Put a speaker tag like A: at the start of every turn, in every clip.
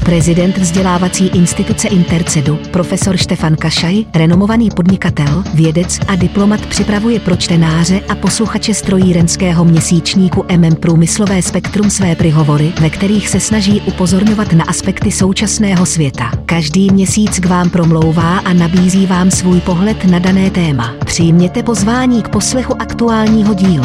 A: Prezident vzdělávací instituce Intercedu, profesor Štefan Kašaj, renomovaný podnikatel, vědec a diplomat, připravuje pro čtenáře a posluchače strojírenského měsíčníku Průmyslové spektrum své prihovory, ve kterých se snaží upozorňovat na aspekty současného světa. Každý měsíc k vám promlouvá a nabízí vám svůj pohled na dané téma. Přijměte pozvání k poslechu aktuálního dílu.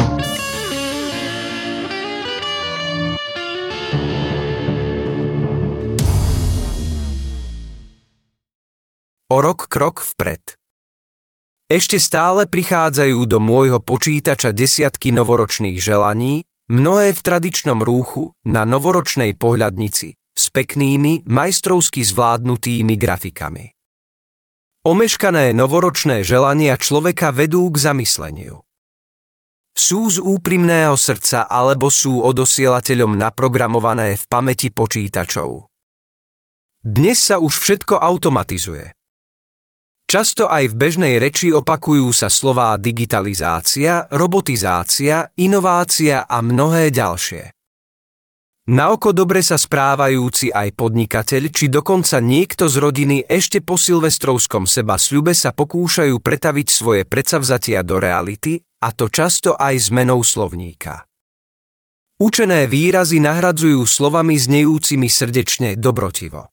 B: O rok krok vpred. Ešte stále prichádzajú do môjho počítača desiatky novoročných želaní, mnohé v tradičnom rúchu, na novoročnej pohľadnici, s peknými, majstrovsky zvládnutými grafikami. Omeškané novoročné želania človeka vedú k zamysleniu. Sú z úprimného srdca alebo sú odosielateľom naprogramované v pamäti počítačov? Dnes sa už všetko automatizuje. Často aj v bežnej reči opakujú sa slová digitalizácia, robotizácia, inovácia a mnohé ďalšie. Na oko dobre sa správajúci aj podnikateľ, či dokonca niekto z rodiny ešte po silvestrovskom sebasľube sa pokúšajú pretaviť svoje predsavzatia do reality, a to často aj zmenou slovníka. Učené výrazy nahradzujú slovami znejúcimi srdečne, dobrotivo.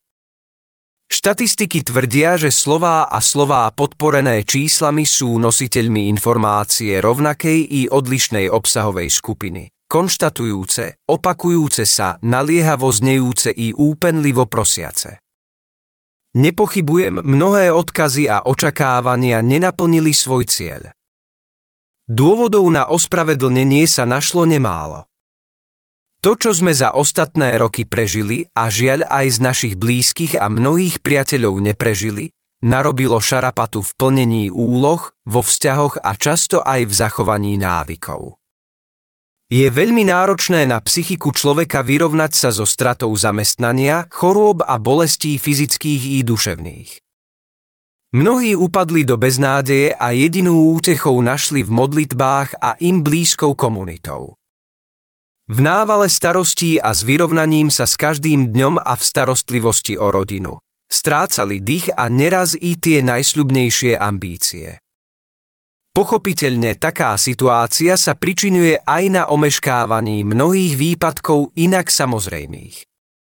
B: Štatistiky tvrdia, že slová a slová podporené číslami sú nositeľmi informácie rovnakej i odlišnej obsahovej skupiny, konštatujúce, opakujúce sa, naliehavo znejúce i úpenlivo prosiace. Nepochybujem, mnohé odkazy a očakávania nenaplnili svoj cieľ. Dôvodov na ospravedlnenie sa našlo nemálo. To, čo sme za ostatné roky prežili a žiaľ aj z našich blízkych a mnohých priateľov neprežili, narobilo šarapatu v plnení úloh, vo vzťahoch a často aj v zachovaní návykov. Je veľmi náročné na psychiku človeka vyrovnať sa so stratou zamestnania, chorôb a bolestí fyzických i duševných. Mnohí upadli do beznádeje a jedinú útechou našli v modlitbách a im blízkou komunitou. V návale starostí a s vyrovnaním sa s každým dňom a v starostlivosti o rodinu strácali dých a neraz i tie najsľubnejšie ambície. Pochopiteľne taká situácia sa pričinuje aj na omeškávaní mnohých výpadkov inak samozrejmých.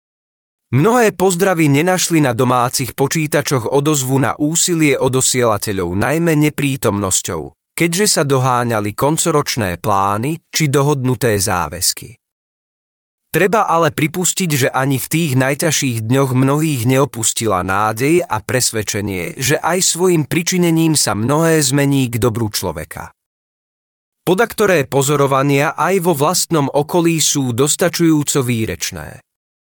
B: Mnohé pozdravy nenašli na domácich počítačoch odozvu na úsilie odosielateľov najmä neprítomnosťou, keďže sa doháňali koncoročné plány či dohodnuté záväzky. Treba ale pripustiť, že ani v tých najťažších dňoch mnohých neopustila nádej a presvedčenie, že aj svojim pričinením sa mnohé zmení k dobru človeka. Podaktoré pozorovania aj vo vlastnom okolí sú dostačujúco výrečné.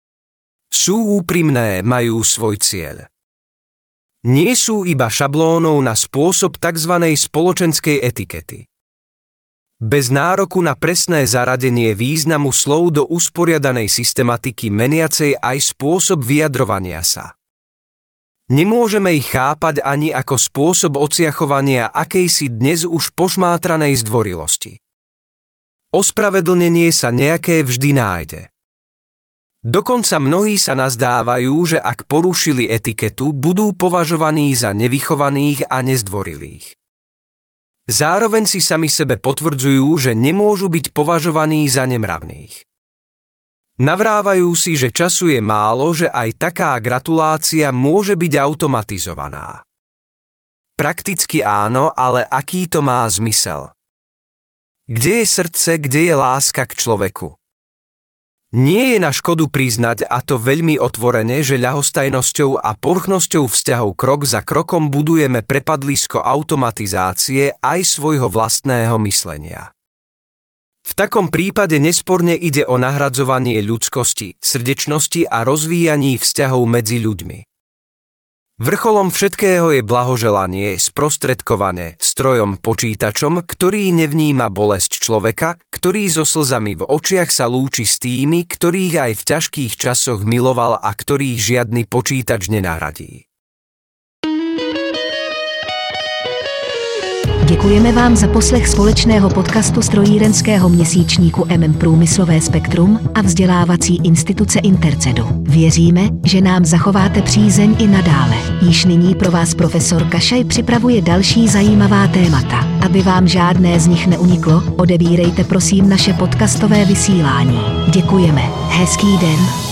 B: Sú úprimné, majú svoj cieľ. Nie sú iba šablónou na spôsob tzv. Spoločenskej etikety. Bez nároku na presné zaradenie významu slov do usporiadanej systematiky meniacej aj spôsob vyjadrovania sa. Nemôžeme ich chápať ani ako spôsob ociachovania akejsi dnes už pošmátranej zdvorilosti. Ospravedlnenie sa nejaké vždy nájde. Dokonca mnohí sa nazdávajú, že ak porušili etiketu, budú považovaní za nevychovaných a nezdvorilých. Zároveň si sami sebe potvrdzujú, že nemôžu byť považovaní za nemravných. Navrávajú si, že času je málo, že aj taká gratulácia môže byť automatizovaná. Prakticky áno, ale aký to má zmysel? Kde je srdce, kde je láska k človeku? Nie je na škodu priznať, a to veľmi otvorene, že ľahostajnosťou a povrchnosťou vzťahov krok za krokom budujeme prepadlisko automatizácie aj svojho vlastného myslenia. V takom prípade nesporne ide o nahradzovanie ľudskosti, srdečnosti a rozvíjaní vzťahov medzi ľuďmi. Vrcholom všetkého je blahoželanie sprostredkované strojom počítačom, ktorý nevníma bolesť človeka, ktorý so slzami v očiach sa lúči s tými, ktorých aj v ťažkých časoch miloval a ktorých žiadny počítač nenahradí.
A: Děkujeme vám za poslech společného podcastu strojírenského měsíčníku Průmyslové spektrum a vzdělávací instituce Intercedu. Věříme, že nám zachováte přízeň i nadále. Již nyní pro vás profesor Kašaj připravuje další zajímavá témata. Aby vám žádné z nich neuniklo, odebírejte prosím naše podcastové vysílání. Děkujeme. Hezký den.